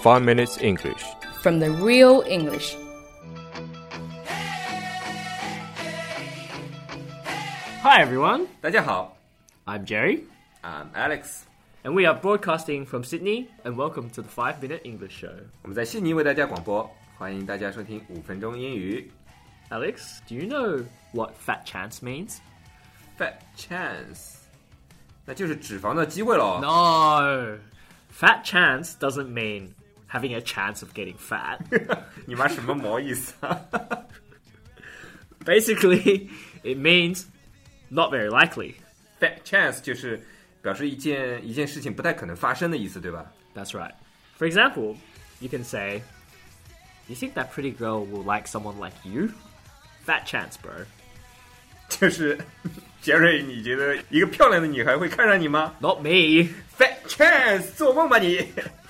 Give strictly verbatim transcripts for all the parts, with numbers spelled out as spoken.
five minutes English. From the real English. Hi everyone, 大家好 I'm Jerry, I'm Alex. and we are broadcasting from Sydney, and welcome to the five minute English show. 我们在悉尼为大家广播，欢迎大家收听五分钟英语。 Alex, do you know what fat chance means? Fat chance， 那就是脂肪的机会咯。 No, fat chance doesn't mean having a chance of getting fat. 你妈什么毛意思啊？ Basically, it means not very likely. Fat chance 就是表示一件一件事情不太可能发生的意思，对吧？ That's right. For example, you can say, you think that pretty girl will like someone like you? Fat chance, bro. 就是杰瑞，你觉得一个漂亮的女孩会看上你吗 Not me. ？Fat chance， 做梦吧你！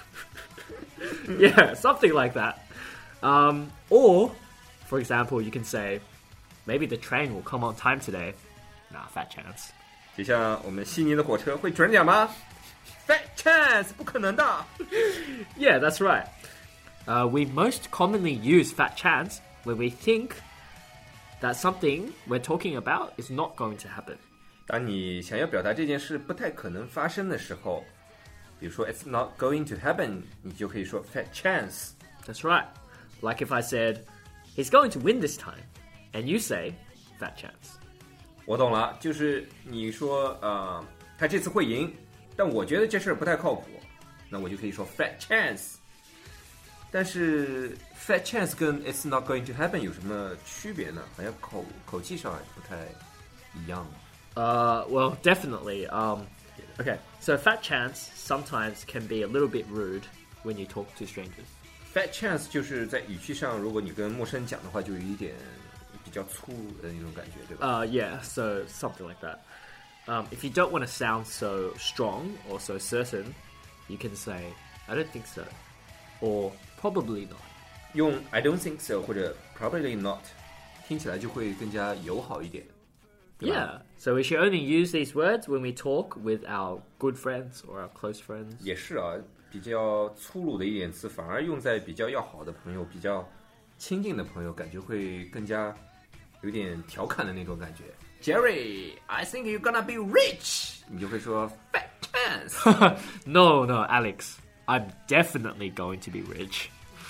Yeah, something like that. Um, or, for example, you can say, maybe the train will come on time today. Nah, fat chance. 就像我们悉尼的火车会准点吗 ？Fat chance， 不可能的。 Yeah, that's right. Uh, we most commonly use fat chance when we think that something we're talking about is not going to happen. 当你想要表达这件事不太可能发生的时候，比如说 "It's not going to happen"， 你就可以说 "Fat chance"。 That's right. Like if I said, he's going to win this time, and you say, fat chance. 我懂了，就是你说呃，他这次会赢，但我觉得这事儿不太靠谱，那我就可以说 "Fat chance"。但是 "Fat chance" 跟 "It's not going to happen" 有什么区别呢？好像口口气上不太一样。 Uh, well, definitely. Um, okay, so fat chance sometimes can be a little bit rude when you talk to strangers. Fat chance 就是在语气上，如果你跟陌生人讲的话，就有一点比较粗的那种感觉，对吧？ Uh, yeah, so something like that. Um, if you don't want to sound so strong or so certain, you can say, I don't think so, or probably not. 用 I don't think so 或者 probably not 听起来就会更加友好一点，对吧？ Yeah, so we should only use these words when we talk with our good friends or our close friends. 也是啊，比较粗鲁的一点词，反而用在比较要好的朋友、比较亲近的朋友，感觉会更加有点调侃的那种感觉。Jerry, I think you're gonna be rich. 你就会说 Fat chance. No, no, Alex, I'm definitely going to be rich.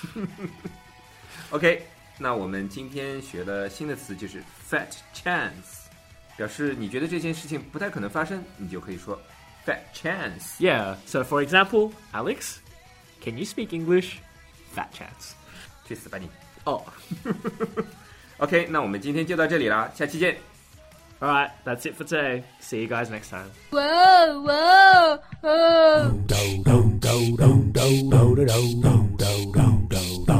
OK, 那我们今天学的新的词就是 Fat chance， 表示你觉得这件事情不太可能发生，你就可以说 Fat chance. Yeah, so for example, Alex, can you speak English? Fat chance. 去死吧你！ Oh, OK, 那我们今天就到这里啦，下期见。 alright, that's it for today. See you guys next time. Whoa, whoa, whoa. do do do do do do do do do do do